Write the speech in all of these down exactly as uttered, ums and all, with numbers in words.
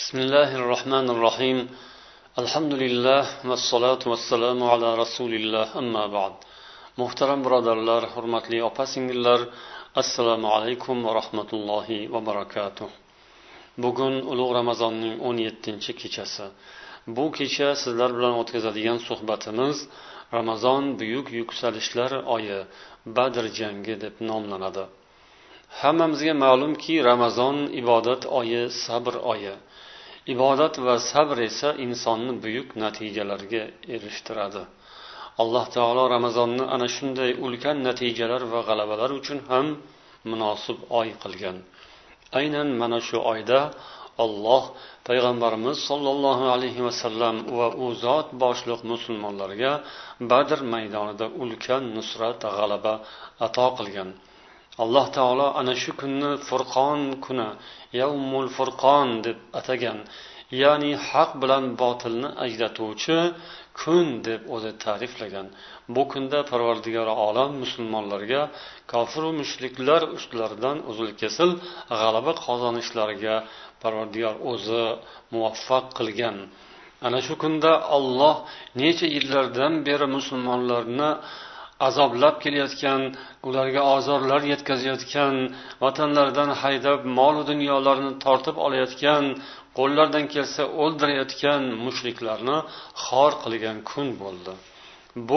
Bismillahirrahmanirrahim. Alhamdulillah va salatu vassalamu ala rasulillah, amma ba'd. Muhtaram birodarlar, hurmatli opa-singillar, assalomu alaykum va rahmatullohi va barakatuh. Bugun ulug' Ramazonning o'n yettinchi kechasi. Bu kecha sizlar bilan o'tkazadigan suhbatimiz Ramazon buyuk yuksalishlar oyi, Badr jangi deb nomlanadi. Hammamizga ma'lumki, Ramazon ibodat oyi, sabr oyi. Ibodat va sabr esa insonni buyuk natijalarga erishtiradi. Alloh taolo Ramazonni ana shunday ulkan natijalar va g'alabalar uchun ham munosib oy qilgan. Aynan mana shu oyda Alloh payg'ambarimiz sollallohu alayhi vasallam va u zot boshliq musulmonlarga Badr maydonida ulkan nusrat, g'alaba ato qilgan. Alloh taolo ana shu kunni Furqon kuni, Yawmul Furqon deb atagan, ya'ni haq bilan botilni ajratuvchi kun deb o'zi ta'riflagan. Bu kunda Parvardigor olam musulmonlarga kofir va mushriklar ustlaridan uzil-kesil g'alaba qozonishlariga Parvardigor o'zi muvaffaq qilgan. Ana shu kunda Alloh necha yillardan beri musulmonlarni azoblab kelayotgan, ularga ozorlar yetkazayotgan, vatanlaridan haydab mol va dunyolarni tortib olayotgan, qo'llaridan kelsa o'ldirayotgan mushriklarni xor qilgan kun bo'ldi. Bu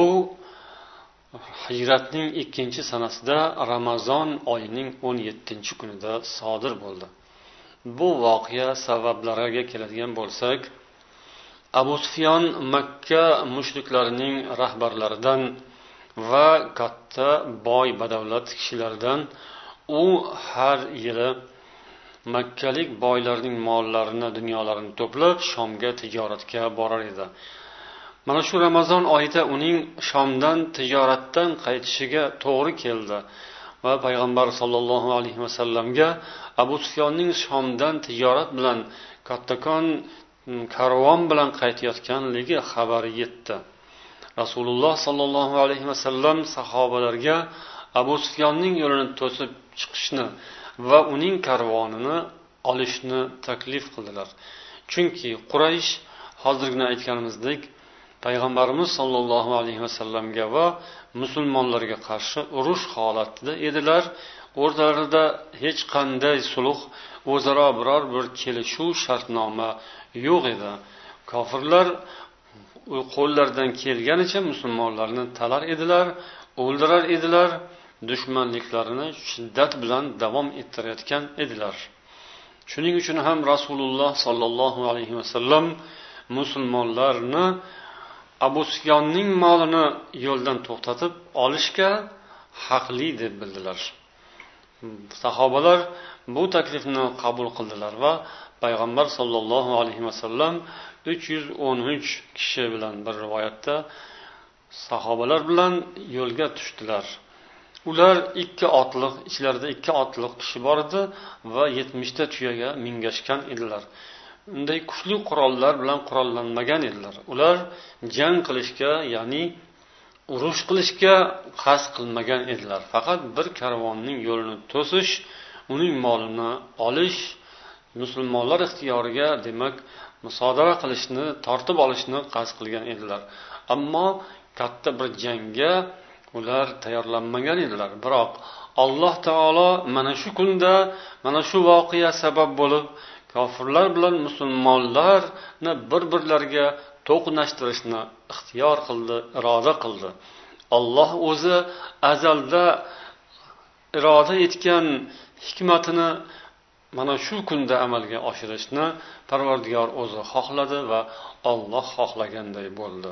Hijratning ikkinchi sanasida Ramazon oyining o'n yettinchi kunida sodir bo'ldi. Bu voqea sabablariga keladigan bo'lsak, Abu Sufyon Makka mushriklarining rahbarlaridan va katta boy badavlat kishilardan u har yili makkalik boylarning mollarini, dunyolarini to'plab Shomga tijoratga borar edi. Mana shu Ramazon oyida uning Shomdan tijoratdan qaytishiga to'g'ri keldi va payg'ambar sollallohu alayhi vasallamga Abu Sufyonning Shomdan tijorat bilan kattakon karvon bilan qaytayotganligi xabari yetdi. Rasululloh sollallohu alayhi vasallam sahobalarga Abu Sufyonning yo'lini to'sib chiqishni va uning karvonini olishni taklif qildilar. Chunki Quraysh hozirgina aytganimizdek payg'ambarimiz sollallohu alayhi vasallamga va musulmonlarga qarshi urush holatida edilar. O'rtalarida hech qanday sulh, o'zaro biror bir kelishuv shartnoma yo'q edi. Kofirlar qo'llaridan kelganicha musulmonlarni talar edilar, o'ldirar edilar, dushmanliklarini shiddat bilan davom ettirayotgan edilar. Shuning uchun ham Rasululloh sollallohu alayhi vasallam musulmonlarni Abu Sufyonning molini yo'ldan to'xtatib olishga haqli deb bildilar. Sahobalar bu taklifni qabul qildilar va payg'ambar sollallohu alayhi vasallam uch yuz o'n uch kishi bilan bir rivoyatda sahobalar bilan yo'lga tushdilar. Ular ikki otliq, ichlarida ikki otliq kishi bor edi va yetmishta tuyaga mingashgan edilar. Unday kuchli qurollar bilan qurollanmagan edilar. Ular jang qilishga, ya'ni urush qilishga qasd qilmagan edilar. Faqat bir karvonning yo'lini to'sish, uning molini olish, musulmonlar ixtiyoriga, demak, musodara qilishni, tortib olishni qasd qilgan edilar. Ammo katta bir jangga ular tayyorlanmagan edilar. Biroq Alloh taolo mana shu kunda, mana shu voqea sabab bo'lib kofirlar bilan musulmonlarni bir-birlariga to'qnashtirishni ixtiyor qildi, iroda qildi. Alloh o'zi azalda iroda etgan hikmatini mana shu kunda amalga oshirishni Parvardigor o'zi xohladi va Alloh xohlaganday bo'ldi.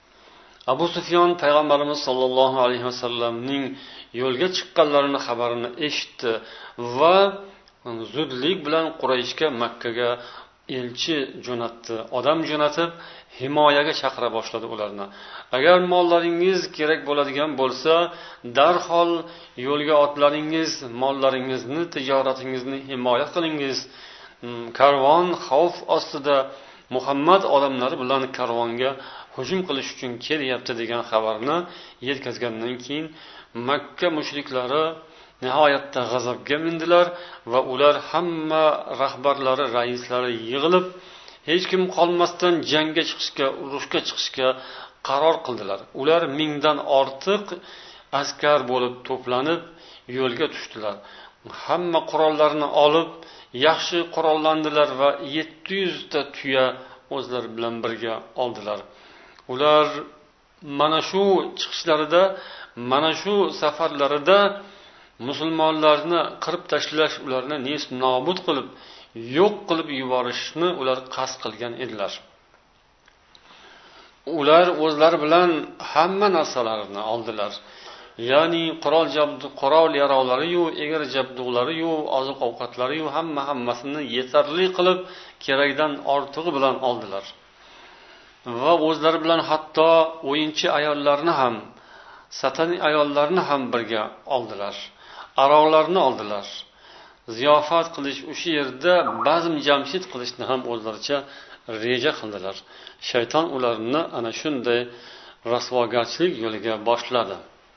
Abu Sufyon payg'ambarimiz sollallohu alayhi vasallamning yo'lga chiqqanlarini xabarini eshitdi va zudlik bilan Qurayshga, Makkaga elchi jo'natdi. Odam jo'natib himoyaga chaqira boshladi ularni. Agar mollaringiz kerak bo'ladigan bo'lsa, darhol yo'lga otlaringiz, mollaringizni, tijoratingizni himoya qilingiz. Karvon xavf ostida, Muhammad odamlari bilan karvonga hujum qilish uchun kelyapti degan xabarni yetkazgandan keyin Makka mushriklari nihoyatda g'azabga mindilar va ular hamma rahbarlari, raislari yig'ilib, hech kim qolmasdan jangga chiqishga, urushga chiqishga qaror qildilar. Ular mingdan ortiq askar bo'lib to'planib yo'lga tushdilar. Hamma qurollarni olib yaxshi qurollandilar va yetti yuz ta tuya o'zlari bilan birga oldilar. Ular mana shu chiqishlarida, mana shu safarlarida musulmonlarni qirib tashlash, ularni nest nobud qilib, yo'q qilib yuborishni ular qasd qilgan edilar. Ular o'zlari bilan hamma narsalarini oldilar. Ya'ni qurol jabdu, qurol yarolari-yu, egri jabduqlari-yu, oziq-ovqatlari-yu hamma hammasini yetarli qilib kerakdan ortig'i bilan oldilar. Va o'zlari bilan hatto o'yinchi ayollarni ham, sataniy ayollarni ham birga oldilar. Aroqlarni oldilar. Ziyofat qilish, o'sha yerda bazm jamshid qilishni ham o'zlaricha reja qildilar. Shayton ularni ana shunday rasvogarchilik yo'liga boshladi.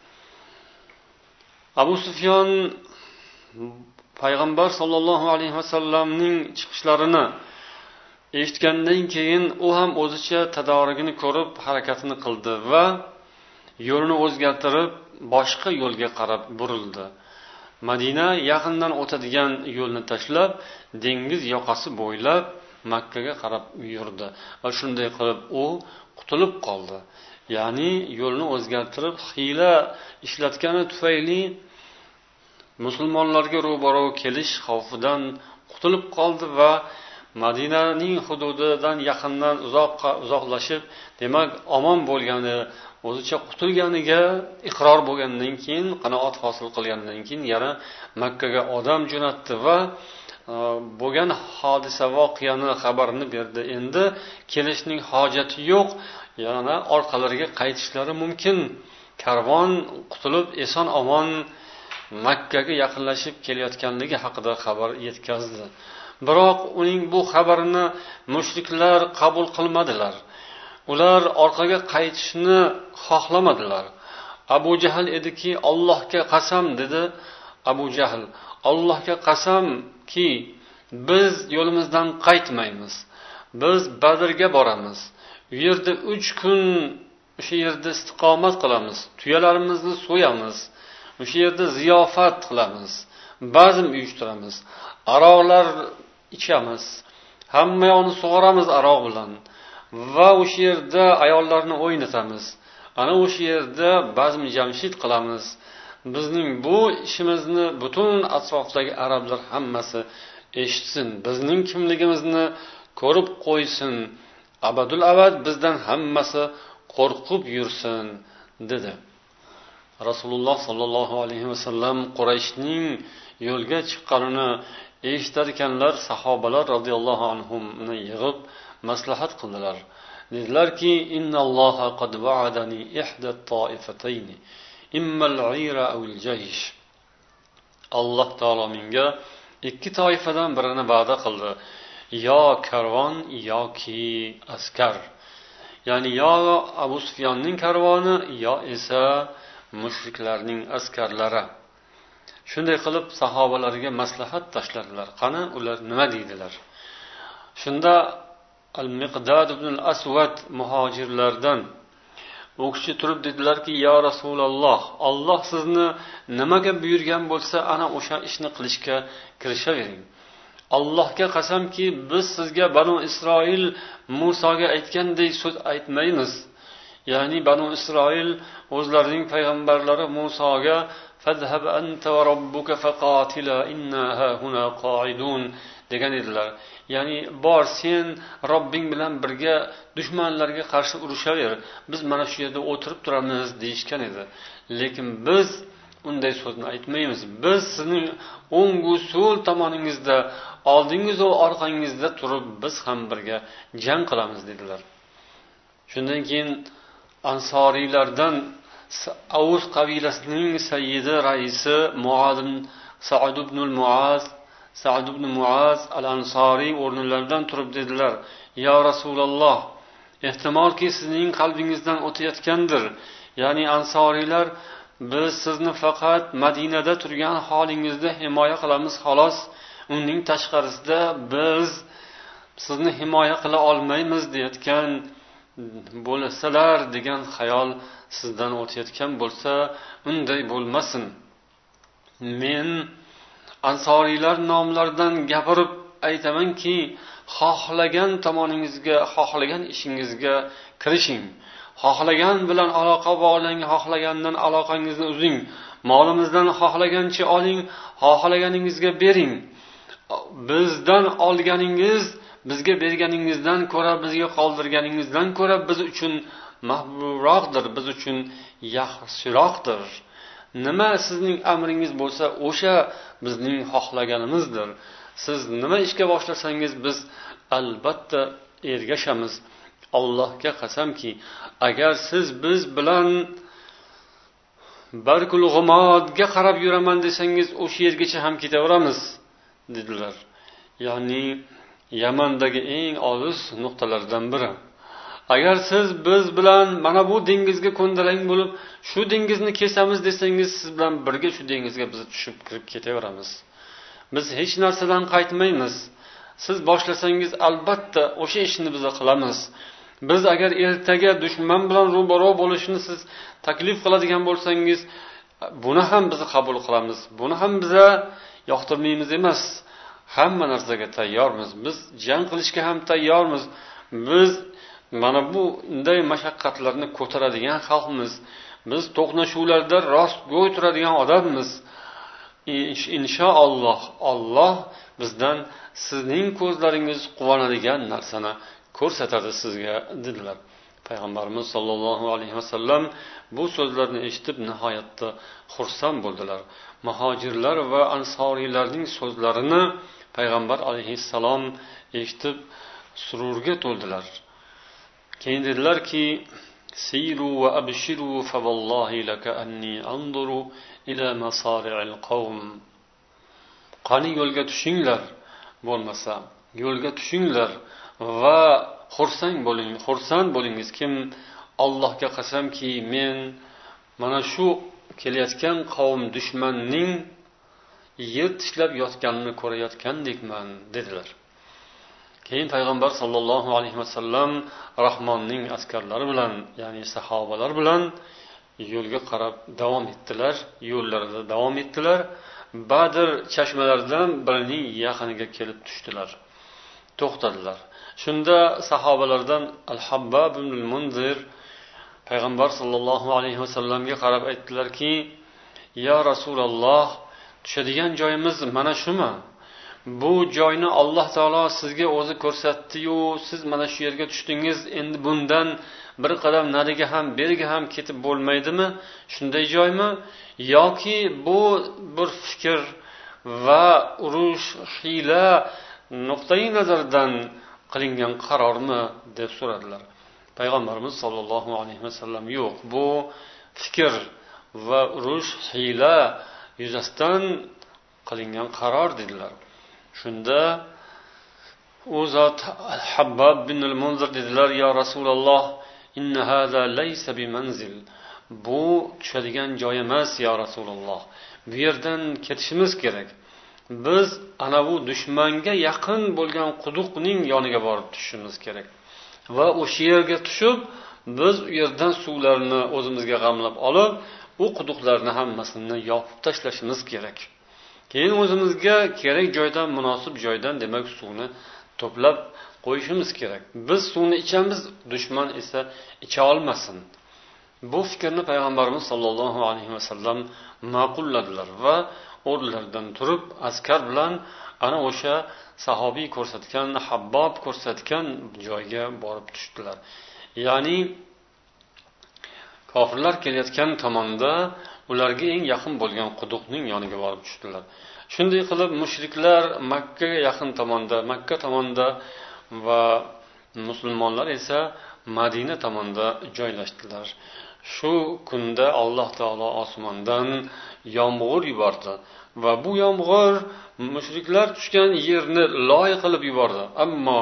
Abu Sufyon payg'ambar sollallohu alayhi vasallamning chiqishlarini eshitgandan keyin u ham o'zicha tadorigini ko'rib harakatini qildi va yo'lini o'zgartirib boshqa yo'lga qarab burildi. Madina yaqindan o'tadigan yo'lni tashlab, dengiz yoqasi bo'ylab Makkaga qarab yurdi va shunday qilib u qutulib qoldi. Ya'ni yo'lni o'zgartirib hiyla ishlatgani tufayli musulmonlarga ro'baro kelish xavfidan qutulib qoldi va Madinaning hududidan yaqindan uzoqqa uzoqlashib, demak, omon bo'lgani, o'zicha qutulganiga iqror bo'lgandan keyin, qanoat hosil qilgandan keyin yana Makkaga odam jo'natdi va bo'lgan hodisa voqeani xabarini berdi. Endi kelishning hojati yo'q, yana orqalariga qaytishlari mumkin. Karvon qutulib eson omon Makkaga yaqinlashib kelayotganligi haqida xabar yetkazdi. Biroq uning bu xabarini mushriklar qabul qilmadilar. Ular orqaga qaytishni xohlamadilar. Abu Jahl ediki, Allohga qasam dedi. Abu Jahl, Allohga qasamki, biz yo'limizdan qaytmaymiz. Biz Badrga boramiz. U yerda uch kun o'sha yerda istiqomat qilamiz. Tuyalarimizni so'yamiz. O'sha yerda ziyofat qilamiz. Bazm uyushtiramiz. Aroqlar ichamiz. Hamma yoqni sug'oramiz aroq bilan. Va o'sha yerda ayollarni o'ynatamiz. Ana o'sha yerda bazm jamshid qilamiz. Bizning bu ishimizni butun atrofdagi arablar hammasi eshitsin. Bizning kimligimizni ko'rib qo'ysin. Abadul abad bizdan hammasi qo'rqib yursin dedi. Rasululloh sallallohu alayhi vasallam Qurayshning yo'lga chiqqanini eshitar ekanlar, sahobalar radhiyallohu anhumni yig'ib maslahat qildilar. Dedilarki, innalloha qad va'adani ihda at-ta'ifatayn, imma al-'ira aw al-jaysh. Alloh taolo menga ikki toifadan birini va'da qildi. Yo karvon yoki askar. Ya'ni yo Abu Sufyonning karvoni, yo esa mushriklarning askarlari. Shunday qilib sahobalarga maslahat tashladilar. Qani ular nima deydilar? Shunda Al-Miqdad ibn al-Aswad muhojirlardan u kishi turib dedilarki, yo Rasululloh, Alloh sizni nimaga buyurgan bo'lsa, ana o'sha ishni qilishga kirishavering. Allohga qasamki, biz sizga Banu Isroil Musoga aytgandek so'z aytmaymiz. Ya'ni Banu Isroil o'zlarining payg'ambarlari Musoga fazhab anta va robbuka faqatila inna hahuna qa'idun degan edilar. Ya'ni bor sen Robbing bilan birga dushmanlarga qarshi urushaver. Biz mana shu yerda o'tirib turamiz deyishgan edi. Lekin biz unday so'zni aytmaymiz. Biz sizning o'ngu so'l tomoningizda, oldingiz va orqangizda turib biz ham birga jang qilamiz dedilar. Shundan keyin Ansoriylardan Avus qabilasining sayyidi raisi Muaz Sa'd ibn al-Muaz Sa'd ibn Muaz al-Ansori o'rnlaridan turib dedilar: "Ya Rasululloh, ehtimolki sizning qalbingizdan o'tayotgandir. Ya'ni Ansoriylar biz sizni faqat Madinada turgan holingizda himoya qilamiz xolos, uning tashqarisida biz sizni himoya qila olmaymiz deyotgan bo'lsalar degan xayol sizdan o'tayotgan bo'lsa, unday bo'lmasin. Men ansoriylar nomlaridan gapirib aytamanki, xohlagan tomoningizga, xohlagan ishingizga kirishing. Xohlagan bilan aloqa bog'lang, xohlagandan aloqangizni uzing. Molimizdan xohlagancha oling, xohlaganingizga bering. Bizdan olganingiz bizga berganingizdan ko'ra, bizga qoldirganingizdan ko'ra biz uchun mahbubroqdir, biz uchun yaxshiroqdir. Nima sizning amringiz bo'lsa, o'sha bizning xohlaganimizdir. Siz nima ishga boshlasangiz biz albatta ergashamiz. Allohga qasamki, agar siz biz bilan Barkul G'umodga qarab yuraman desangiz, o'sha yergacha ham ketaveramiz dedilar. Ya'ni Yamandagi eng olis nuqtalardan biri. Agar siz biz bilan mana bu dengizga ko'ndalang bo'lib, shu dengizni kesamiz desangiz, siz bilan birga shu dengizga biz tushib kirib ketaveramiz. Biz hech narsadan qaytmaymiz. Siz boshlasangiz albatta o'sha ishni biz qilamiz. Biz agar ertaga dushman bilan ro'baro bo'lishni siz taklif qiladigan bo'lsangiz, buni ham biz qabul qilamiz. Buni ham biza yoqtirmaymiz emas. Hamma narsaga tayyormiz. Biz jang qilishga ham tayyormiz. Biz mana bu unday mashaqqatlarni ko'taradigan xalqmiz. Biz to'qnashuvlarda rostgo'y turadigan odammiz. Inshaalloh Alloh bizdan sizning ko'zlaringiz quvonadigan narsani ko'rsatadi sizga dedilar. Payg'ambarimiz sollallohu alayhi vasallam bu so'zlarni eshitib nihoyatda xursand bo'ldilar. Muhojirlar va ansoriylarning so'zlarini Payg'ambar alayhissalom eshitib sururga to'ldilar. Keyin dedilarki: "Siru va abshiru fa vallahi laka anni anzuru ila masari'il qawm." Qani yo'lga tushinglar, bo'lmasa yo'lga tushinglar va xursand bo'ling, xursand bo'lingiz. Kim Allohga qasamki, men mana shu kelayotgan qavm dushmanning yer tishlab yotganini ko'rayotgandekman dedilar. Keyin payg'ambar sollallohu alayhi vasallam Rahmonning askarlari bilan, ya'ni sahobalar bilan yo'lga qarab davom etdilar, yo'llarida davom etdilar. Badr chashmalaridan birining yaqiniga kelib tushdilar. To'xtadilar. Shunda sahobalardan Al-Habbab ibn al-Munzir payg'ambar sollallohu alayhi vasallamga qarab aytdilarki: "Ya Rasululloh, tushadigan joyimiz mana shumi? Bu joyni Alloh taolo sizga o'zi ko'rsatdi-yu, siz mana shu yerga tushdingiz. Endi bundan bir qadam nariga ham, beriga ham ketib bo'lmaydimi? Shunday joymi? Yoki bu bir fikr va urush, hiyla nuqtai nazardan qilingan qarormi?" deb so'radilar. Payg'ambarimiz sollallohu alayhi vasallam: "Yo'q, bu fikr va urush, hiyla yuzasidan qilingan qaror" dedilar. Shunda u zot Habbab bin al-Munzir dedilar: "Ya Rasululloh, inna hada laysa bi manzil." Bu tushadigan joy emas, ya Rasululloh. Bu yerdan ketishimiz kerak. Biz ana bu dushmanga yaqin bo'lgan quduqning yoniga borib tushishimiz kerak. Va o'sha yerga tushib, biz u yerdan suvlarni o'zimizga g'amlab olib, u quduqlarni hammasini yopib tashlashimiz kerak. Keyin o'zimizga kerak joydan, munosib joydan, demak, suvni to'plab qo'yishimiz kerak. Biz suvni ichamiz, dushman esa icha olmasin. Bu fikrni payg'ambarimiz sollallohu alayhi vasallam ma'qulladilar va o'rnlaridan turib askar bilan ana o'sha sahobiy ko'rsatgan, Habbob ko'rsatgan joyga borib tushdilar. Ya'ni kofirlar kelayotgan tomonda ularga eng yaqin bo'lgan quduqning yoniga borib tushdilar. Shunday qilib mushriklar Makka ga yaqin tomonda, Makka tomonda va musulmonlar esa Madina tomonda joylashdilar. Shu kunda Alloh taolo osmondan yomg'ir yubordi va bu yomg'ir mushriklar tushgan yerni loy qilib yubordi. Ammo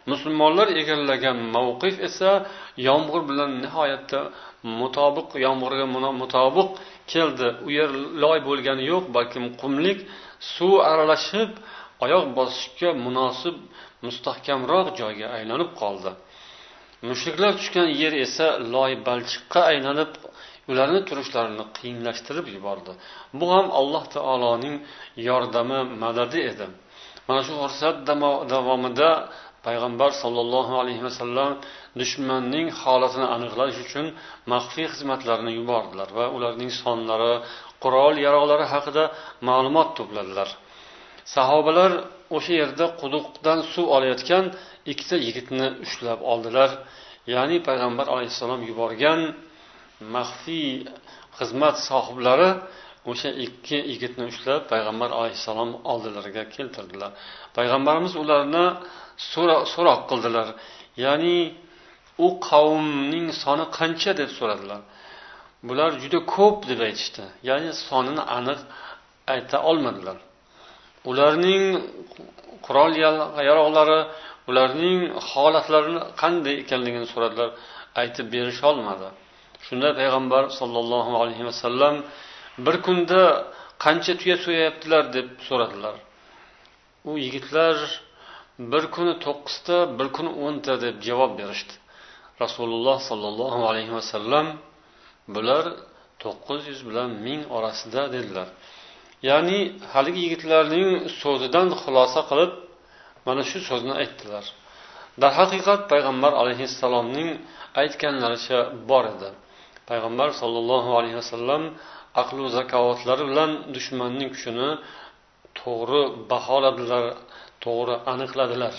musulmonlar egallagan mavqif esa yomg'ir bilan nihoyatda mutobiq, yomg'irga mutobiq keldi. U yer loy bo'lgani yo'q, balkim qumlik, suv aralashib oyoq bosishga munosib mustahkamroq joyga aylanib qoldi. Mushriklar tushgan yer esa loy balchiqqa aylanib ularni turishlarini qiyinlashtirib yubordi. Bu ham Alloh taoloning yordami, madadi edi. Mana shu fursat davomida payg'ambar sollallohu alayhi vasallam dushmanning holatini aniqlash uchun maxfiy xizmatlarni yubordilar va ularning sonlari, qurol yaroqlari haqida ma'lumot to'pladilar. Sahobalar o'sha yerda quduqdan suv olayotgan ikkita yigitni ushlab oldilar. Ya'ni payg'ambar alayhissalom yuborgan maxfiy xizmat sohiblari o'sha ikki yigitni ushlab payg'ambar alayhissalom oldilariga keltirdilar. Payg'ambarimiz ularni so'roq qildilar. Ya'ni u qavmning soni qancha deb so'radilar. Bular juda ko'p deb aytishdi. Ya'ni sonini aniq ayta olmadilar. Ularning qurol yaroqlari, ularning holatlarini qanday ekanligini so'radilar, aytib berish olmadi. Shunda payg'ambar sollallohu alayhi vasallam bir kunda qancha tuya so'yaptilar deb so'radilar. U yigitlar bir kuni to'qqizta, bir kuni o'nta deb javob berishdi. Rasululloh sollallohu alayhi vasallam bular to'qqiz yuz bilan ming orasida dedilar. Ya'ni haligi yigitlarning so'zidan xulosa qilib mana shu so'zni aytdilar. Dar haqiqat payg'ambar alayhissalomning aytganlaricha bor edi. Payg'ambar sollallohu alayhi vasallam aql va zakovatlari bilan dushmanning kuchini to'g'ri baholadilar, to'g'ri aniqladilar.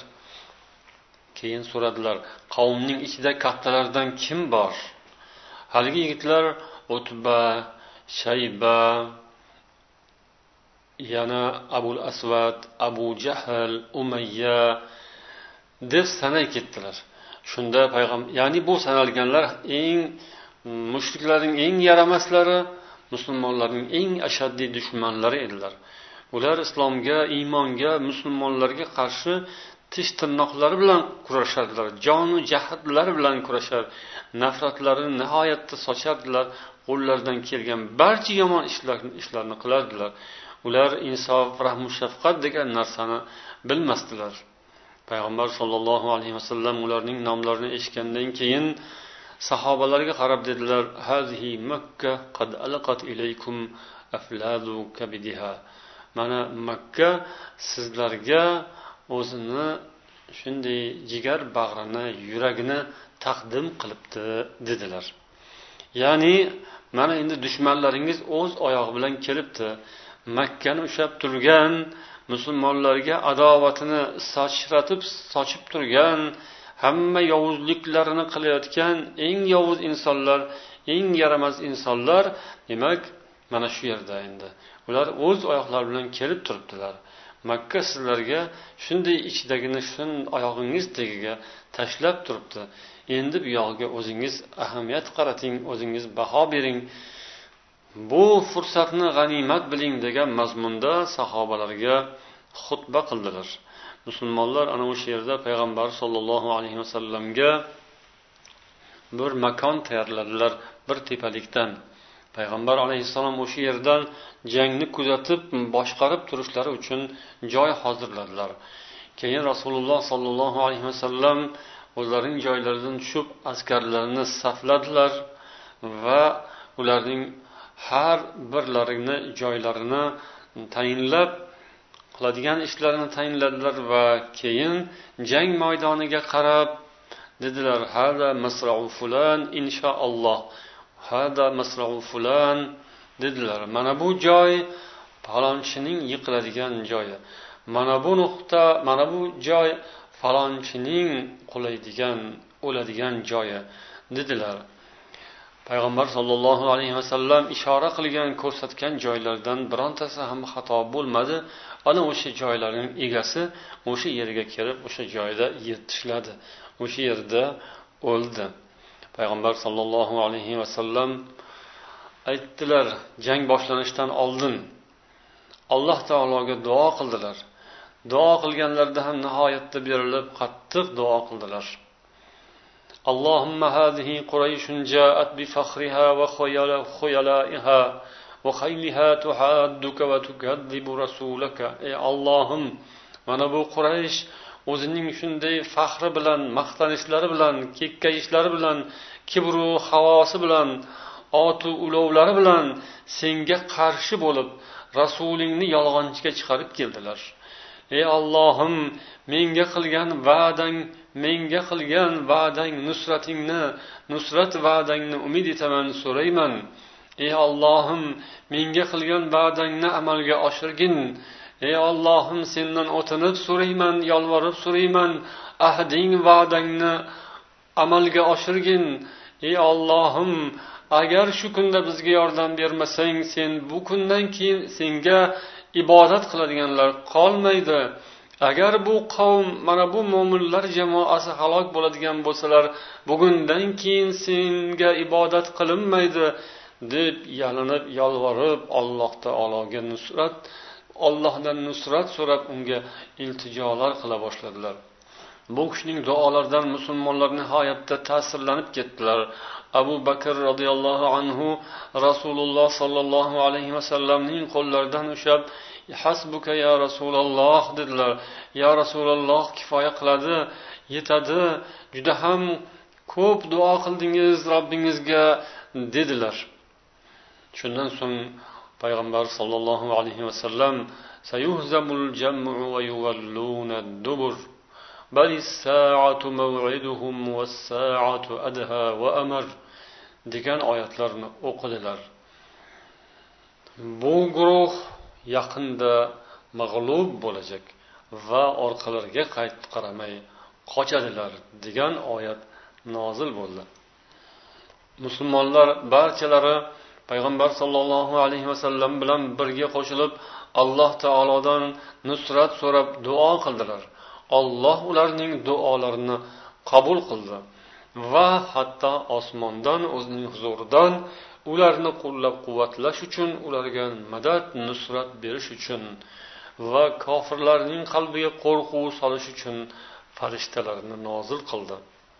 Keyin so'radilar, qavmning ichida kattalardan kim bor? Haligi yigitlar Utba, Shayba, yana Abul Asvad, Abu Jahl, Umayya deb sanay ketdilar. Shunda payg'ambar, ya'ni bu sanalganlar eng mushriklarning eng yaramaslari, musulmonlarning eng ashaddiy dushmanlari edilar. Ular islomga, iymonga, musulmonlarga qarshi tish tirnoqlari bilan kurashardilar, jonu jahdlari bilan kurashar, nafratlarini nihoyatda sochardilar, qo'llaridan kelgan barcha yomon ishlarni ishlarni qilardilar. Ular insof, rahm va shafqat degan narsani bilmasdilar. Payg'ambar sollallohu alayhi vasallam ularning nomlarini eshitgandan keyin sahobalarga qarab dedilar: "Hazihi Makka qad alqat ilaykum afladu kabidiha." Mana Makka sizlarga o'zini shunday jigar bag'rini, yuragini taqdim qilibdi dedilar. Ya'ni mana endi dushmanlaringiz o'z oyog'i bilan kelibdi. Makkani ushlab turgan, musulmonlarga adovatini sochratib, sochib turgan, hamma yovuzliklarini qilayotgan eng yovuz insonlar, eng yaramas insonlar, demak, mana shu yerda endi. Ular o'z oyoqlari bilan kelib turibdilar. Makka sizlarga shunday ichidagini shun oyog'ingiz tagiga tashlab turibdi. Endi bu yog'iga o'zingiz ahamiyat qarating, o'zingiz baho bering. Bu fursatni g'animat biling degan mazmunda sahobalarga xutba qildilar. Musulmonlar ana o'sha yerda payg'ambar sollallohu alayhi vasallamga bir makon tayyorladilar, bir tepalikdan. Payg'ambar alayhissalom o'sha yerdan jangni kuzatib, boshqarib turishlari uchun joy hozirladilar. Keyin Rasululloh sollallohu alayhi vasallam o'zlarining joylaridan tushib, askarlarni safladilar va ularning har birlarini joylarini tayinlab, qiladigan ishlarini tayinladilar va keyin jang maydoniga qarab dedilar: "Hada masra'u fulan inshaalloh. Hada masra'u fulan" dedilar. Mana bu joy falonchining yiqiladigan joyi. Mana bu nuqta, mana bu joy falonchining qulaydigan, o'ladigan joyi dedilar. Payg'ambar sollallohu alayhi vasallam ishora qilgan, ko'rsatgan joylardan birontasi ham xato bo'lmadi. Ana o'sha joylarning egasi o'sha yerga kelib, o'sha joyda yetishladi. O'sha yerda o'ldi. Payg'ambar sollallohu alayhi vasallam aytdilar, jang boshlanishidan oldin Alloh taologa duo qildilar. duo qilganlarda ham nihoyatda berilib qattiq duo qildilar. Allohumma hadhihi Qurayshun ja'at bi fakhriha va khuyala'iha va khayliha tuhadduka va tukazzibu rasulaka. Ey Allohim, mana bu Quraysh o'zining shunday faxri bilan, maqtanishlari bilan, kekkayishlari bilan, kibru havosi bilan, otu ulovlari bilan senga qarshi bo'lib, rasulingni yolg'onchiga chiqarib keldilar. Ey Allohim, menga qilgan va'dang, menga qilgan va'dang nusratingni, nusrat va'dangni umid etaman, so'rayman. Ey Allohim, menga qilgan va'dangni amalga oshirgin. Ey Allohim, sendan o'tinib so'rayman, yolvorib so'rayman, ahding va'dangni amalga oshirgin. Ey Allohim, agar shu kunda bizga yordam bermasang, sen bu kundan keyin senga ibodat qiladiganlar qolmaydi. Agar bu qavm, mana bu mo'minlar jamoasi halok bo'ladigan bo'lsalar, bugundan keyin senga ibodat qilinmaydi deb yalinib, yolvorib, Alloh taologa nusrat, Allohdan nusrat so'rab unga iltijolar qila boshladilar. Bu kishining duolaridan musulmonlar nihoyatda ta'sirlanib ketdilar. Abu Bakr radhiyallohu anhu Rasululloh sallallohu alayhi vasallamning qo'llaridan ushlab, hasbuka ya Rasululloh dedilar. Ya Rasululloh, kifoya qiladi, yetadi, juda ham ko'p duo qildingiz Robbingizga dedilar. Shundan so'ng payg'ambar sallallohu alayhi vasallam sayuhzamul jam'u va yuvalluna ad-dubur bal as-sa'atu maw'iduhum was-sa'atu adha wa amar degan oyatlarni o'qidilar. Bu guruh yaqinda mag'lub bo'lajak va orqalariga qaytib qaramay qochadilar degan oyat nozil bo'ldi. Musulmonlar barchalari payg'ambar sallallohu alayhi vasallam bilan birga qo'shilib Alloh taolodan nusrat so'rab duo qildilar. Alloh ularning duolarini qabul qildi va hatto osmondan, o'zining huzuridan ularni qo'llab-quvvatlash uchun, ularga madad, nusrat berish uchun va kofirlarning qalbiga qo'rquv solish uchun farishtalarni nozil qildi.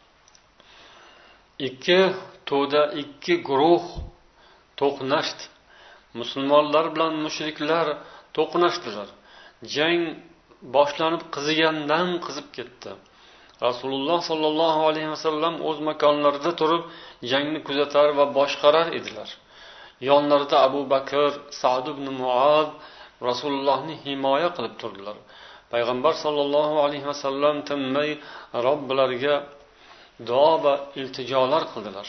Ikki to'da ikki guruh to'qnashdi. Musulmonlar bilan mushriklar to'qnashdilar. Jang boshlanib qizigandan qizib ketdi. Rasululloh sallallohu alayhi vasallam o'z makonlarida turib jangni kuzatar va boshqarar edilar. Yonlarida Abu Bakr, Sa'd ibn Mu'az Rasulullohni himoya qilib turdilar. Payg'ambar sallallohu alayhi vasallam tinmay Robbilariga duo va iltijolar qildilar.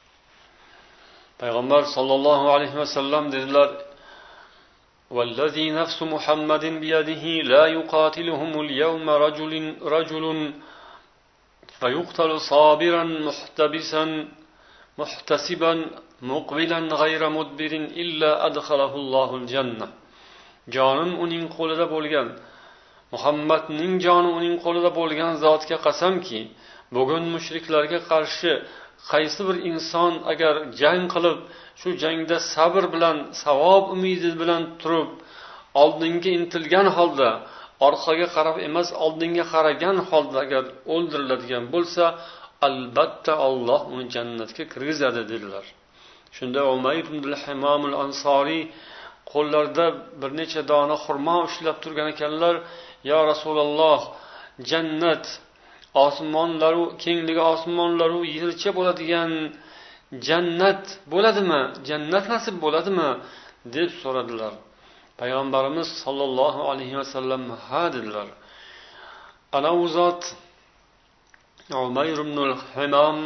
Payg'ambar sallallohu alayhi vasallam dedilar: "Vallazi nafsu Muhammadin biyadihi la yuqatiluhum al-yawma rajulun rajulun fayuqtalu sabiran muhtabisan muhtasiban muqbilan ghayra mudbirin illa adkhalahu Allahu al-jannah." Jonim uning qo'lida bo'lgan, Muhammadning joni uning qo'lida bo'lgan zotga qasamki, bugun mushriklarga qarshi qaysi bir inson agar jang qilib, shu jangda sabr bilan, savob umidi bilan turib, oldinga intilgan holda, orqaga qarab emas, oldinga qaragan holda agar o'ldiriladigan bo'lsa, albatta Alloh uni jannatga kirgizadi dedilar. Shunda Umayr ibn al-Himam al-Ansori qo'llarida bir necha dona xurmo ushlab turgan ekanlar. Ya Rasululloh, jannat osmonlaru kengligi osmonlaru yercha bo'ladigan jannat bo'ladimi? Jannat nasib bo'ladimi? deb so'radilar. Payg'ambarimiz sollallohu alayhi vasallam ha dedilar. Ana u zot Umayr ibn al-Himam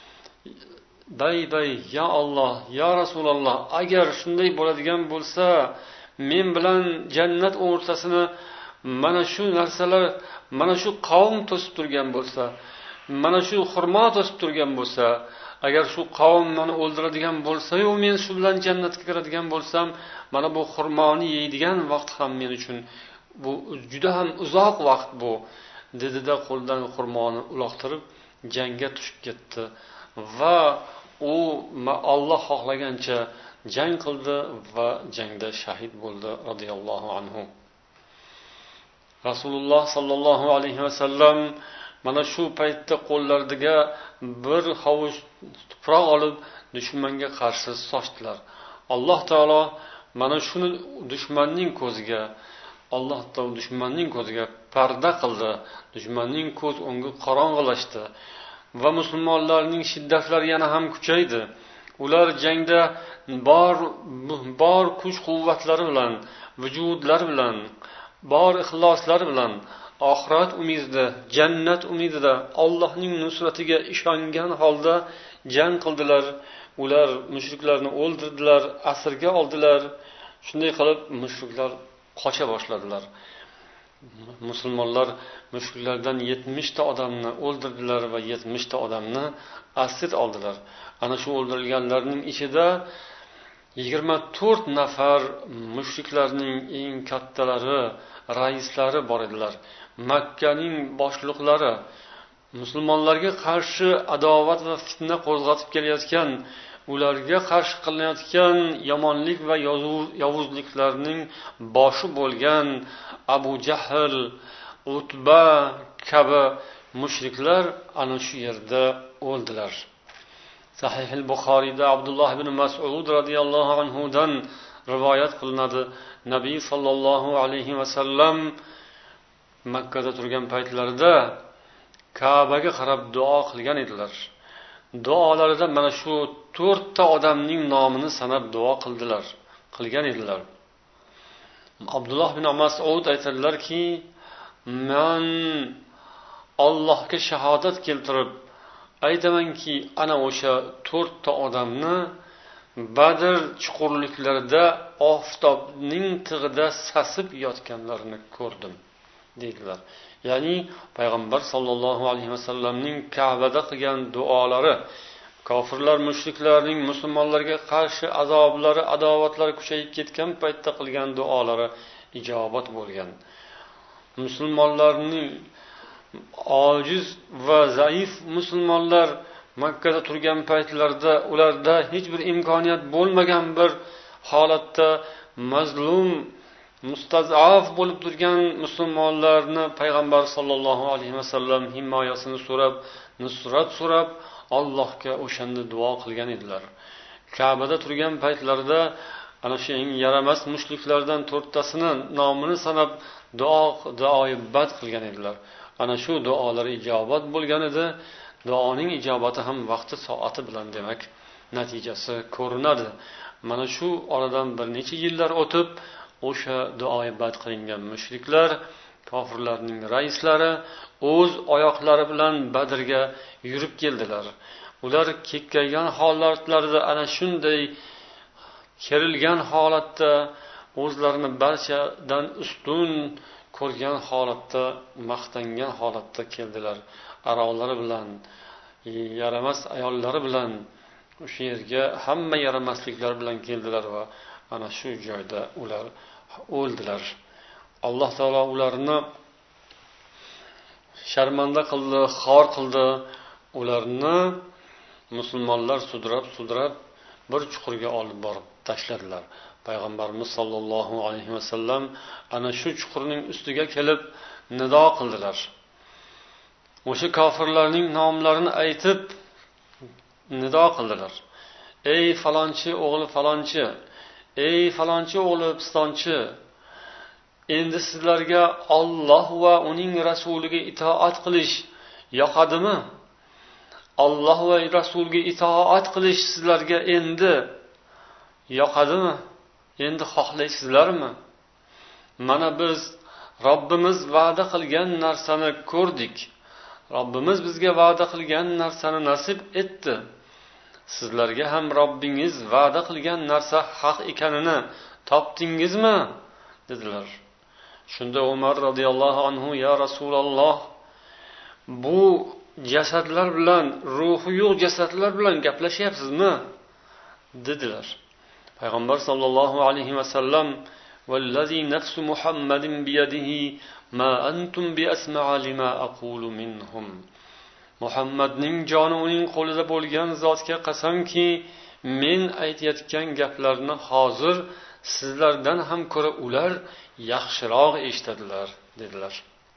bay bay ya Alloh, ya Rasululloh, agar shunday bo'ladigan bo'lsa, men bilan jannat o'rtasini mana shu narsalar, mana shu qavm to'sib turgan bo'lsa, mana shu xurmo to'sib turgan bo'lsa, agar shu qavm meni o'ldiradigan bo'lsa-yu, men shu bilan jannatga kiradigan bo'lsam, mana bu xurmoni yeydigan vaqt ham men uchun bu juda ham uzoq vaqt bu, dedi-da qo'ldan xurmoni uloqtirib jangga tushib ketdi va u Alloh xohlagancha jang qildi va jangda shahid bo'ldi radhiyallohu anhu. Rasululloh sollallohu alayhi vasallam mana shu paytda qo'llariga bir hovuch tuproq olib dushmanga qarshi sochdilar. Alloh taolo mana shuni dushmanning ko'ziga Alloh taolo dushmanning ko'ziga parda qildi. Dushmanning ko'z o'ngi qorong'ilashdi va musulmonlarning shiddatlari yana ham kuchaydi. Ular jangda bor bor kuch-quvvatlari bilan, vujudlari bilan, bor ixloslari bilan oxirat umidida, jannat umidida Allohning nusratiga ishongan holda jang qildilar. Ular mushriklarni o'ldirdilar, asirga oldilar. Shunday qilib mushriklar qocha boshladilar. Musulmonlar mushriklardan yetmish ta odamni o'ldirdilar va yetmish ta odamni asir oldilar. Ana shu o'ldirilganlarning ichida yigirma to'rt nafar mushriklarning eng kattalari, raislari bor edilar. Makkaning boshliqlari, musulmonlarga qarshi adovat va fitna qo'zg'atib kelayotgan, ularga qarshi qilinayotgan yomonlik va yovuzliklarning boshi bo'lgan Abu Jahl, Utba kabi mushriklar ana shu yerda o'ldilar. Sahih al-Buxoriyda Abdulloh ibn Mas'ud radhiyallohu anhu dan rivoyat qilinadi. Nabiy sallallohu alayhi vasallam Makkada turgan paytlarida Ka'baga qarab duo qilgan edilar. Duolarida mana shu to'rtta odamning nomini sanab duo qildilar, qilgan edilar. Abdulloh ibn Mas'ud aytadilarki, men Allohga shahodat keltirib aytamanki, ana o'sha to'rtta odamni Badr chuqurliklarida oftobning tig'ida sasib yotganlarini ko'rdim, dedilar. Ya'ni payg'ambar sollallohu alayhi vasallamning Ka'bada qilgan duolari, kofirlar, mushriklarning musulmonlarga qarshi azoblari, adovatlari kuchayib ketgan paytda qilgan duolari ijobat bo'lgan. Musulmonlarning ojiz va zaif musulmonlar Makkada turgan paytlarda ularda hech bir imkoniyat bo'lmagan bir holatda mazlum, mustazaf bo'lib turgan musulmonlarni payg'ambar sollallohu alayhi vasallam himoyasini so'rab, nusrat so'rab Allohga o'shanda duo qilgan edilar. Ka'bada turgan paytlarida ana shu eng yaramas mushriklardan to'rttasini nomini sanab duo duoibat qilgan edilar. Ana shu duolari ijobat bo'lgan edi. Duoning ijobati ham vaqti soati bilan demak natijasi ko'rinadi. Mana shu oradan bir necha yillar o'tib o'sha duoibat qilingan mushriklar, kofirlarning raislari o'z oyoqlari bilan Badrga yurib keldilar. Ular kekkaygan holatlarida ana shunday kerilgan holatda, o'zlarini barchadan ustun ko'rgan holatda, maqtangan holatda keldilar. Arollari bilan, yaramas ayollari bilan o'sha yerga hamma yaramasliklar bilan keldilar va ana shu joyda ular o'ldilar. Alloh taolo ularni sharmanda qildi, xor qildi. Ularni musulmonlar sudrab-sudrab bir chuqurga olib borib tashladilar. Payg'ambarimiz sollallohu alayhi vasallam ana shu chuqurning ustiga kelib nido qildilar. O'sha kofirlarning nomlarini aytib nido qildilar. Ey falonchi o'g'li falonchi, ey falonchi o'g'li pistonchi, endi sizlarga Alloh va uning rasuliga itoat qilish yoqadimi? Alloh va rasuliga itoat qilish sizlarga endi yoqadimi? Endi xohlaysizlarmi? Mana biz Robbimiz va'da qilgan narsani ko'rdik. Robbimiz bizga va'da qilgan narsani nasib etdi. Sizlarga ham Robbingiz va'da qilgan narsa haq ekanini topdingizmi? dedilar. Shunda Umar radhiyallohu anhu, ya Rasululloh, bu jasadlar bilan, ruhi yo'q jasadlar bilan gaplashyapsizmi? dedilar. Payg'ambar sollallohu alayhi vasallam, vallazi nafsu Muhammadin biyadihi ma antum bi asma'a lima aqulu minhum. Muhammadning joni uning qo'lida bo'lgan zotga qasamki, men aytayotgan gaplarni hozir sizlardan ham ko'ra ular yaxshiroq eshitadilar, dedilar.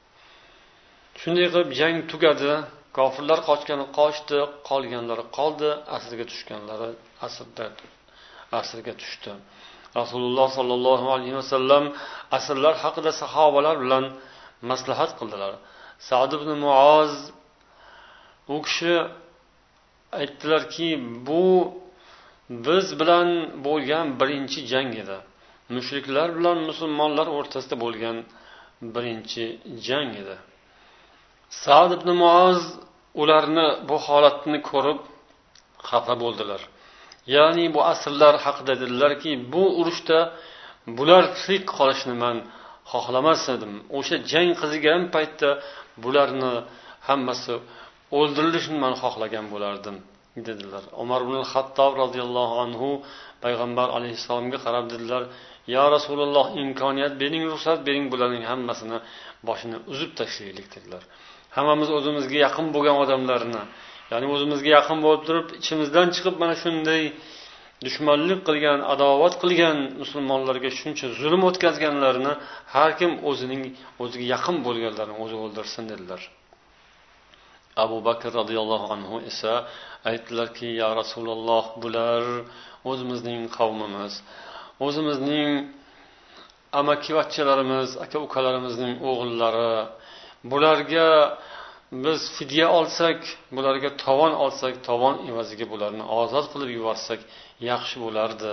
Shunday qilib jang tugadi. Kofirlar qochgani qochdi, qolganlari qoldi, asirga tushganlari asirda asirga tushdi. Rasululloh sollallohu alayhi vasallam asirlar haqida sahobalar bilan maslahat qildilar. Sa'd ibn Muoz u kishi aytdilarki, bu biz bilan bo'lgan birinchi jang edi. Mushriklar bilan musulmonlar o'rtasida bo'lgan birinchi jang edi. Sa'd ibn Muoz ularni bu holatni ko'rib xafa bo'ldilar. Ya'ni bu asrlar haqida dedilarki, bu urushda bular tirik qolishni men xohlamas edim. O'sha jang qizigan paytda bularni hammasi o'ldirilishini men xohlagan bo'lardim dedilar. Umar ibn al-Xattob radhiyallohu anhu payg'ambar alayhisolamga qarab dedilar: "Ya Rasululloh, imkoniyat bering, ruxsat bering, bularning hammasini boshini uzib tashlaylik" dedilar. Hammamiz o'zimizga yaqin bo'lgan odamlarni, ya'ni o'zimizga yaqin bo'lib turib, ichimizdan chiqib mana shunday dushmanlik qilgan, adovat qilgan musulmonlarga shuncha zulm o'tkazganlarni har kim o'zining o'ziga yaqin bo'lganlarni o'zi o'ldirsin dedilar. Abu Bakr radhiyallohu anhu esa aytdilarki: "Ya Rasululloh, bular o'zimizning qavmimiz, o'zimizning amakivachchalarimiz, aka-ukalarimizning o'g'illari. Bularga biz fidya olsak, bularga tovon olsak, tovon evaziga bularni ozod qilib yuborsak yaxshi bo'lardi.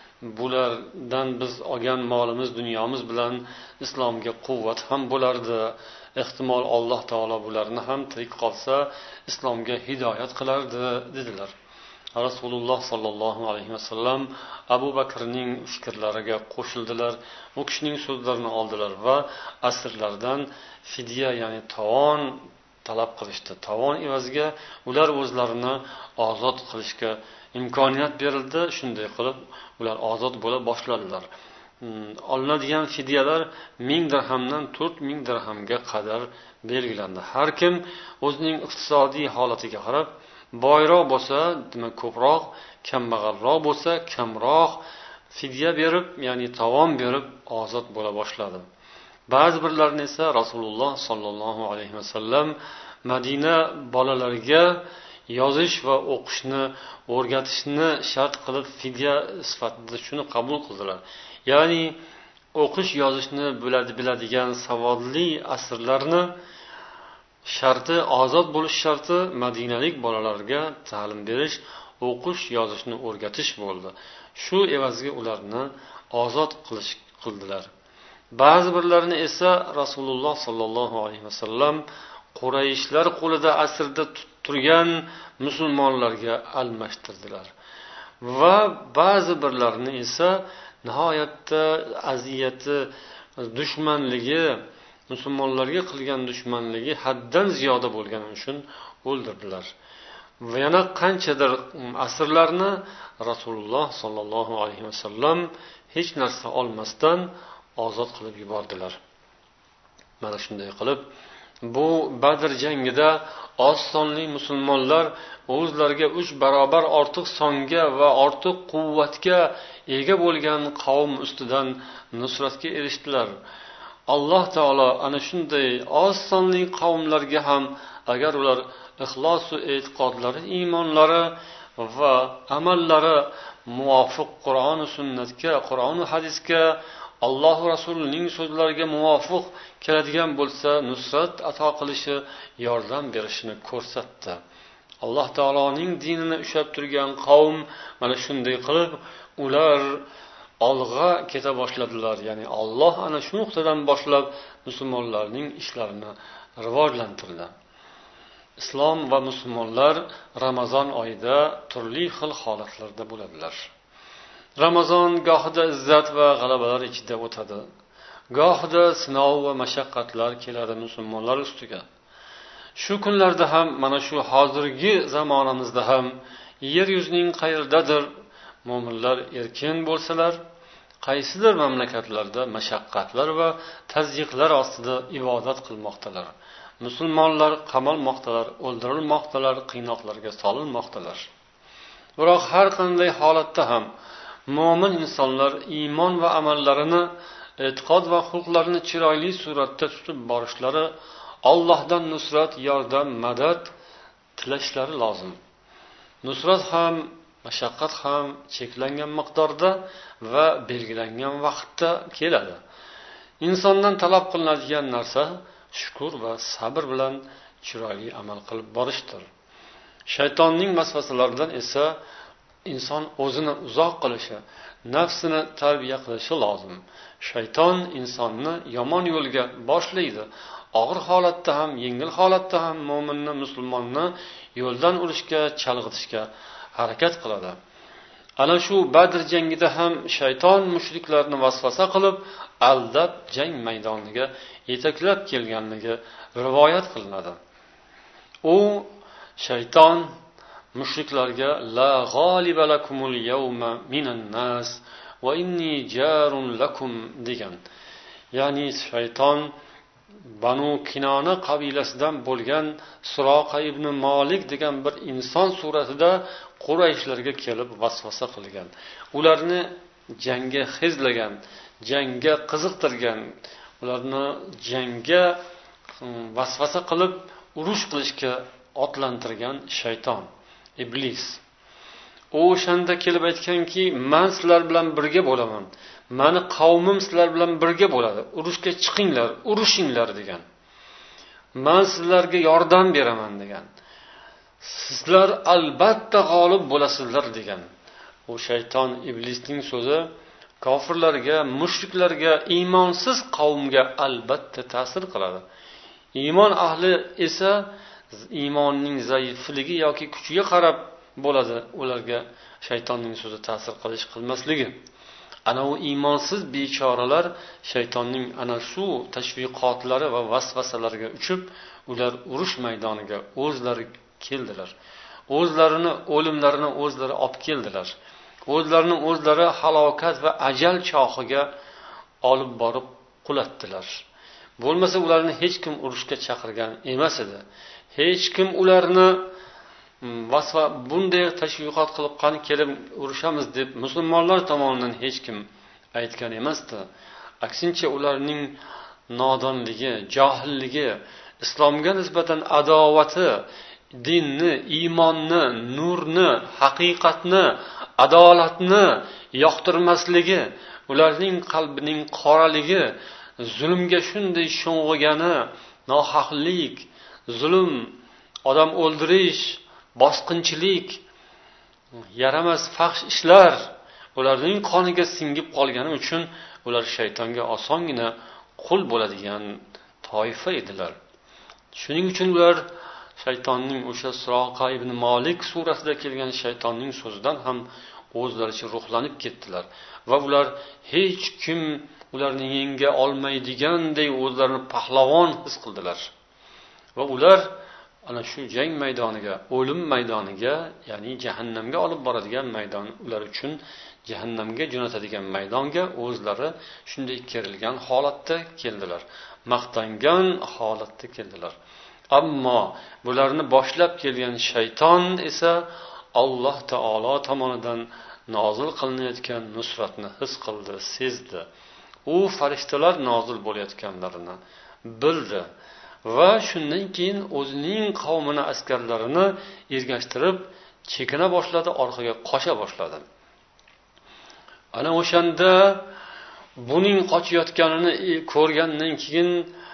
Bulardan biz olgan molimiz, dunyomiz bilan islomga quvvat ham bo'lardi. Ehtimol Alloh taolo bularni ham tirik qolsa islomga hidoyat qilardi" dedilar. Rasululloh sollallohu alayhi vasallam Abu Bakrning fikrlariga qo'shildilar. U kishining so'zlarini oldilar va asirlardan fidya, ya'ni tovon talab qilishdi. Tovon evaziga ular o'zlarini ozod qilishga imkoniyat berildi. Shunday qilib ular ozod bo'la boshladilar. Olinadigan fidyalar ming dirhamdan to'rt ming dirhamga qadar belgilandi. Har kim o'zining iqtisodiy holatiga qarab, boyroq bo'lsa, demak ko'proq, kambag'alroq bo'lsa, kamroq fidya berib, ya'ni tovon berib ozod bo'la boshladi. Ba'zi birlarni esa Rasululloh sollallohu alayhi vasallam Madina bolalariga yozish va o'qishni o'rgatishni shart qilib fidya sifatida shuni qabul qildilar. Ya'ni o'qish yozishni biladi biladigan savodli asirlarni sharti, ozod bo'lish sharti madinalik bolalarga ta'lim berish, o'qish yozishni o'rgatish bo'ldi. Shu evaziga ularni ozod qilish qildilar. Ba'zi birlarini esa Rasululloh sollallohu alayhi vasallam Qurayshlar qo'lida asirda turgan musulmonlarga almashtirdilar. Va ba'zi birlarini esa nihoyatda aziyati, dushmanligi, musulmonlarga qilgan dushmanligi haddan ziyoda bo'lgani uchun o'ldirdilar. Va yana qanchadir asirlarni Rasululloh sollallohu alayhi vasallam hech narsa olmasdan ozod qilib yubordilar. Mana shunday qilib, bu Badr jangida oz sonli musulmonlar o'zlariga uch barobar ortiq songa va ortiq quvvatga ega bo'lgan qavm ustidan nusratga erishdilar. Alloh taolo ana shunday oz sonli qavmlarga ham agar ular ixlos va e'tiqodlari, iymonlari va amallari muvofiq Qur'on va sunnatga, Qur'on va hadisga, Alloh va Rasulining so'zlariga muvofiq keladigan bo'lsa, nusrat ato qilishi, yordam berishini ko'rsatdi. Alloh taoloning dinini ushlab turgan qavm mana shunday qilib ular olg'a keta boshladilar. Ya'ni Alloh ana shu nuqtadan boshlab musulmonlarning ishlarini rivojlantirdi. Islom va musulmonlar Ramazon oyida turli xil holatlarda bo'ladilar. Ramazon gohida izzat va g'alabalar ichida o'tadi. Gohida sinov va mashaqqatlar keladi musulmonlar ustiga. Shu kunlarda ham, mana shu hozirgi zamonimizda ham yer yuzining qayerdadir mo'minlar erkin bo'lsalar, qaysidir mamlakatlarda mashaqqatlar va tazyiqlar ostida ibodat qilmoqdalar. Musulmonlar qamalmoqdalar, o'ldirilmoqdalar, qiynoqlarga solinmoqdalar. Biroq har qanday holatda ham mo'min insonlar iymon va amallarini e'tiqod va xulqlarini chiroyli suratda tutib borishlari, Allohdan nusrat, yordam, madad tilashlari lozim. Nusrat ham, mashaqqat ham cheklangan miqdorda va belgilangan vaqtda keladi. Insondan talab qilinadigan narsa shukr va sabr bilan chiroyli amal qilib borishdir. Shaytonning vasvasalaridan esa inson o'zini uzoq qilishi, nafsini tarbiya qilishi lozim. Shayton insonni yomon yo'lga boshlaydi. Og'ir holatda ham, yengil holatda ham mo'minni, musulmonni yo'ldan urishga, chalg'itishga harakat qiladi. Ana shu Badr jangida ham shayton mushriklarni vasvasa qilib, aldab jang maydoniga yetaklab kelganligi rivoyat qilinadi. U shayton mushriklarga la g'oliba lakumul yawma minan nas va inni jarun lakum degan. Ya'ni shayton Banu Kinona qabilasidan bo'lgan Suroqa ibn Malik degan bir inson suratida Qurayshlarga kelib vasvasa qilgan. Ularni jangga xizlagan, jangga qiziqtirgan, ularni jangga vasvasa qilib urush qilishga otlantirgan shayton, iblis. U o'shanda kelib aytganki, men sizlar bilan birga bo'laman. Mani qavmim sizlar bilan birga bo'ladi. Urushga chiqinglar, urushinglar degan. Men sizlarga yordam beraman degan. Sizlar albatta g'olib bo'lasizlar degan. U shayton, iblisning so'zi kofirlarga, mushriklarga, iymonsiz qavmga albatta ta'sir qiladi. Iymon ahli esa iymonning zaifligi yoki kuchiga qarab bo'ladi ularga shaytonning so'zi ta'sir qilish qilmasligi. Ana u iymonsiz bechoralar shaytonning ana shu tashviqotlari va vasvasalariga uchib, ular urush maydoniga o'zlari keldilar. O'zlarini o'limlarini o'zlari olib keldilar. O'zlarini o'zlari halokat va ajal chohiga olib borib qulatdilar. Bo'lmasa ularni hech kim urushga chaqirgan emas edi. Hech kim ularni vasva bunday tashviqot qilib qani kelib urushamiz deb musulmonlar tomonidan hech kim aytgan emasdi. Aksincha ularning nodonligi, johilligi, islomga nisbatan adovati, dinni, iymonni, nurni, haqiqatni, adolatni yoqtirmasligi, ularning qalbining qoraligi, zulmga shunday sho'ng'igani, nohaqlik, zulm, odam o'ldirish, bosqinchilik, yaramas fahsh ishlar ularning qoniga singib qolgani uchun ular shaytonga osongina qul bo'ladigan toifa edilar. Shuning uchun ular shaytonning o'sha Suroqa ibn Malik suratida kelgan shaytonning so'zidan ham o'zlaricha ruhlanib ketdilar va ular hech kim ularni yenga olmaydiganday o'zlarini pahlavon his qildilar. Va ular ana shu jang maydoniga, o'lim maydoniga, ya'ni jahannamga olib boradigan maydon, ular uchun jahannamga jo'natadigan maydonga o'zlari shunday kerilgan holatda keldilar. Maqtangan holatda keldilar. Ammo bularni boshlab kelgan shayton esa Alloh taolo tomonidan nozil qilinayotgan nusratni his qildi, sezdi. U farishtalar nozil bo'layotganlarini bildi. Va shundan keyin o'zining qavmini, askarlarini ergashtirib chekina boshladi, orqaga qocha boshladi. Ana o'shanda buning qochayotganini ko'rgandan keyin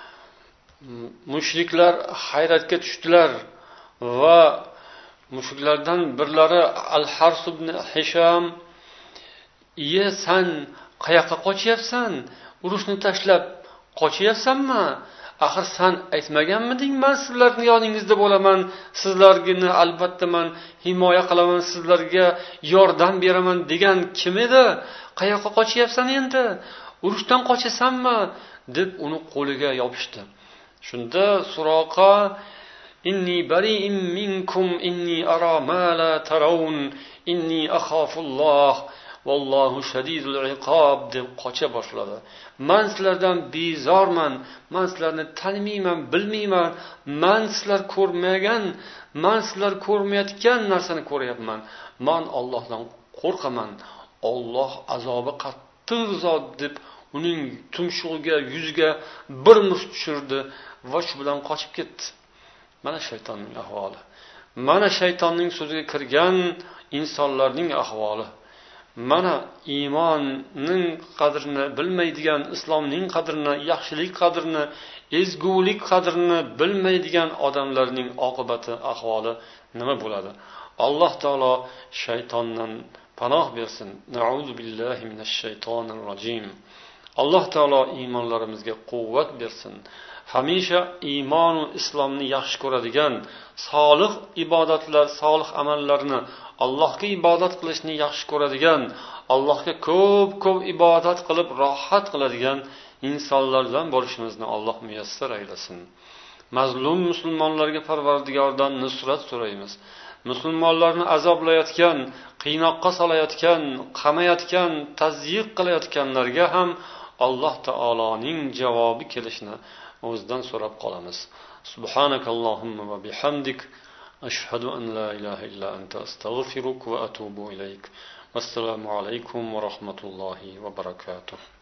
mushriklar hayratga tushdilar va mushriklardan birlari Al-Hars ibn Hisham: "Iye, sen qayoqqa qochyapsan? Urushni tashlab qochyapsanmi? Axir sen aytmaganmiding, men sizlarning yoningizda bo'laman, sizlarni albatta men himoya qilaman, sizlarga yordam beraman degan kim edi? Qayoqqa qochyapsan endi? Urushdan qochasanmi?" deb uni qo'liga yopishdi. Shunda Suroqa: "Inni bari'im minkum inni ara ma la tarawun inni akhafulloh vallohu shadidul iqob" deb qocha boshladi. "Men sizlardan bezorman, men sizlarni tanimayman, bilmayman, men sizlar ko'rmagan, men sizlar ko'rmayotgan narsani ko'ryapman. Men Allohdan qo'rqaman. Alloh azobi qattiq zot" deb uning tumshug'iga, yuziga bir musht tushirdi va shu bilan qochib ketdi. Mana shaytonning ahvoli. Mana shaytonning so'ziga kirgan insonlarning ahvoli. Mana iymonning qadrini bilmaydigan, islomning qadrini, yaxshilik qadrini, ezgulik qadrini bilmaydigan odamlarning oqibati, ahvoli nima bo'ladi? Alloh taolo shaytondan panoh bersin. Na'udzu billahi minash shaytonir rojim. Alloh taolo iymonlarimizga quvvat bersin. Hamisha iymon va islomni yaxshi ko'radigan, solih ibodatlar, solih amallarni, Allohga ibodat qilishni yaxshi ko'radigan, Allohga ko'p-ko'p ibodat qilib rohat qiladigan insonlardan bo'lishimizni Alloh muyassar aylasin. Mazlum musulmonlarga Parvardigordan nusrat so'raymiz. Musulmonlarni azoblayotgan, qiynoqqa solayotgan, qamayotgan, tazyiq qilayotganlarga ham Alloh taoloning javobi kelishini o'zidan so'rab qolamiz. Subhanakallohumma va bihamdik ashhadu an la ilaha illa anta astaghfiruka va atubu ilayk. Assalomu alaykum va rahmatullohi va barakatuh.